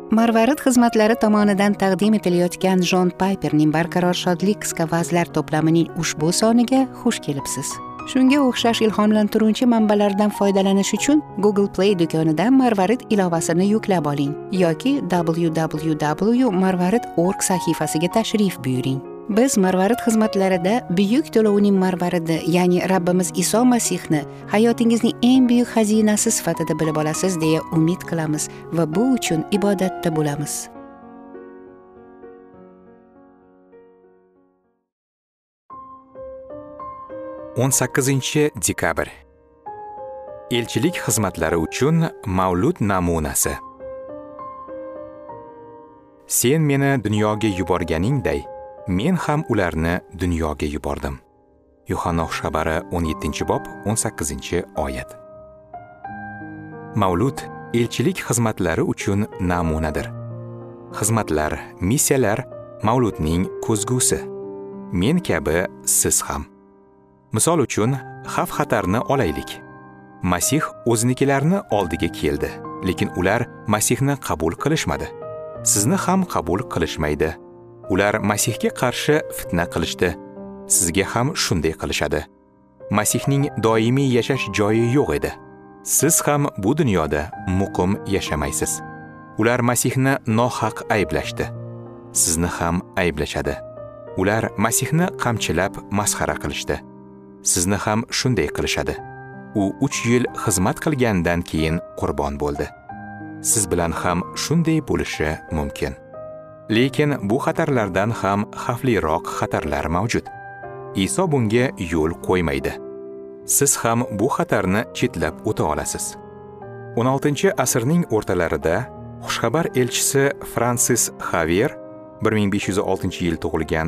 Marvarid xizmatlari tomonidan taqdim etilayotgan Jon Payperning Barqaror shodlik qisqa vazlar to'plamining ushbu soniga xush kelibsiz. Shunga o'xshash ilhomlantiruvchi manbalardan foydalanish uchun Google Play do'konidan Marvarid ilovasini yuklab oling yoki www.marvarid.org sahifasiga tashrif buyuring. Biz Marvarid xizmatlarida buyuk to'lovning marvaridi, ya'ni Rabbimiz Iso Masihni hayotingizning eng buyuk xazinasi sifatida bilib olasiz deya umid qilamiz va bu uchun ibodatda bo'lamiz. o'n 18-dekabr. Elchilik xizmatlari uchun mavlud namunasi. Sen meni dunyoga yuborganingday, men ham ularni dunyoga yubordim. Yuhanna xabari 17-bob 18-oyat. Mavlud elchilik xizmatlari uchun namunadir. Xizmatlar, missiyalar mavludning ko'zgusi. Men kabi siz ham. Misol uchun, xavf-xatarni olaylik. Masih o'zinikilarni oldiga keldi, lekin ular Masihni qabul qilishmadi. Sizni ham qabul qilishmaydi. Ular Masihga qarshi fitna qilishdi. Sizga ham shunday qilishadi. Masihning doimiy yashash joyi yo'q edi. Siz ham bu dunyoda muqim yashamaysiz. Ular Masihni nohaq ayblashdi. Sizni ham ayblashadi. Ular Masihni qamchilab masxara qilishdi. Sizni ham shunday qilishadi. U 3 yil xizmat qilgandan keyin qurbon bo'ldi. Siz bilan ham shunday bo'lishi mumkin. Lekin bu xatarlardan ham xavfliroq xatarlar mavjud. Iso bunga yo'l qo'ymaydi. Siz ham bu xatarni chetlab o'ta olasiz. 16-asrning o'rtalarida xushxabar elchisi Fransis Xavier 1506-yil tug'ilgan,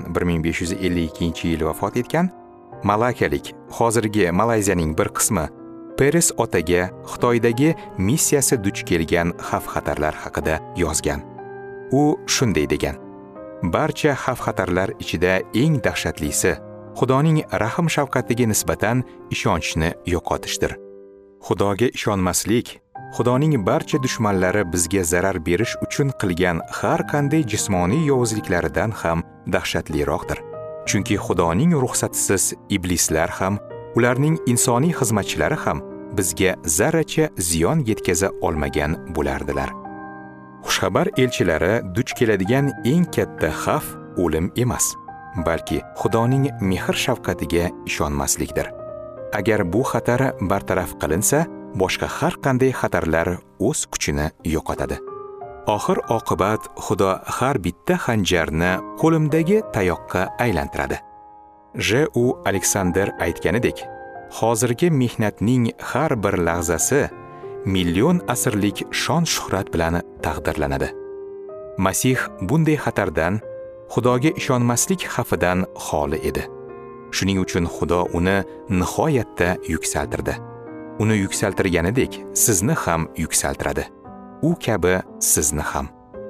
1552-yil vafot etgan malakalik, hozirgi Malayziyaning bir qismi Peres otaga Xitoydagi missiyasi duch kelgan xavf-xatarlar haqida yozgan. U shunday degan: barcha xavf-xatarlar ichida eng dahshatlisi Xudoning rahm-shafqatiga nisbatan ishonchni yo'qotishdir. Xudoga ishonmaslik Xudoning barcha dushmanlari bizga zarar berish uchun qilgan har qanday jismoniy yovuzliklaridan ham dahshatliroqdir. Chunki Xudoning ruxsatisiz iblislar ham, ularning insoniy xizmatchilari ham bizga zarracha ziyon yetkaza olmagan bo'lardilar. Xushxabar elchilari duch keladigan eng katta xavf o'lim emas, balki Xudoning mehr-shafqatiga ishonmaslikdir. Agar bu xatar bartaraf qilinsa, boshqa har qanday xatarlar o'z kuchini yo'qotadi. Oxir oqibat Xudo har bitta xanjarni qo'limdagi tayoqqa aylantiradi. J.U. Aleksander aytganidek, hozirgi mehnatning har bir lahzasi million asrlik shon-shuhrat bilan taqdirlanadi. Masih bunday xatardan, Xudoga ishonmaslik xavfidan xoli edi. Shuning uchun Xudo uni nihoyatda yuksaltirdi. Uni yuksaltirganidek sizni ham yuksaltiradi. U kabi sizni ham.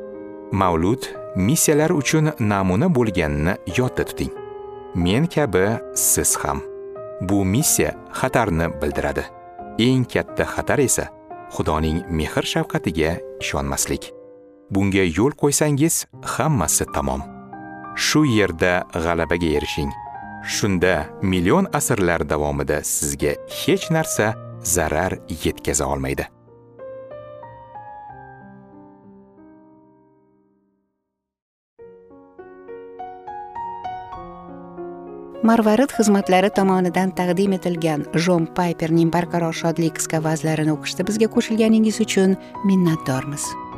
Mavlud missiyalar uchun namuna bo'lganini yodda tuting. Men kabi siz ham. Bu missiya xatarni bildiradi. Eng katta xatar esa Xudoning mehr-shafqatiga ishonmaslik. Bunga yo'l qo'ysangiz, hammasi tamom. Shu yerda g'alabaga erishing. Shunda million asrlar davomida sizga hech narsa zarar yetkaza olmaydi. Marvarid xizmatlari tomonidan taqdim etilgan Jon Payperning Barqaror shodlik qisqa vazlarini o'qishda bizga qo'shilganingiz uchun minnatdormiz.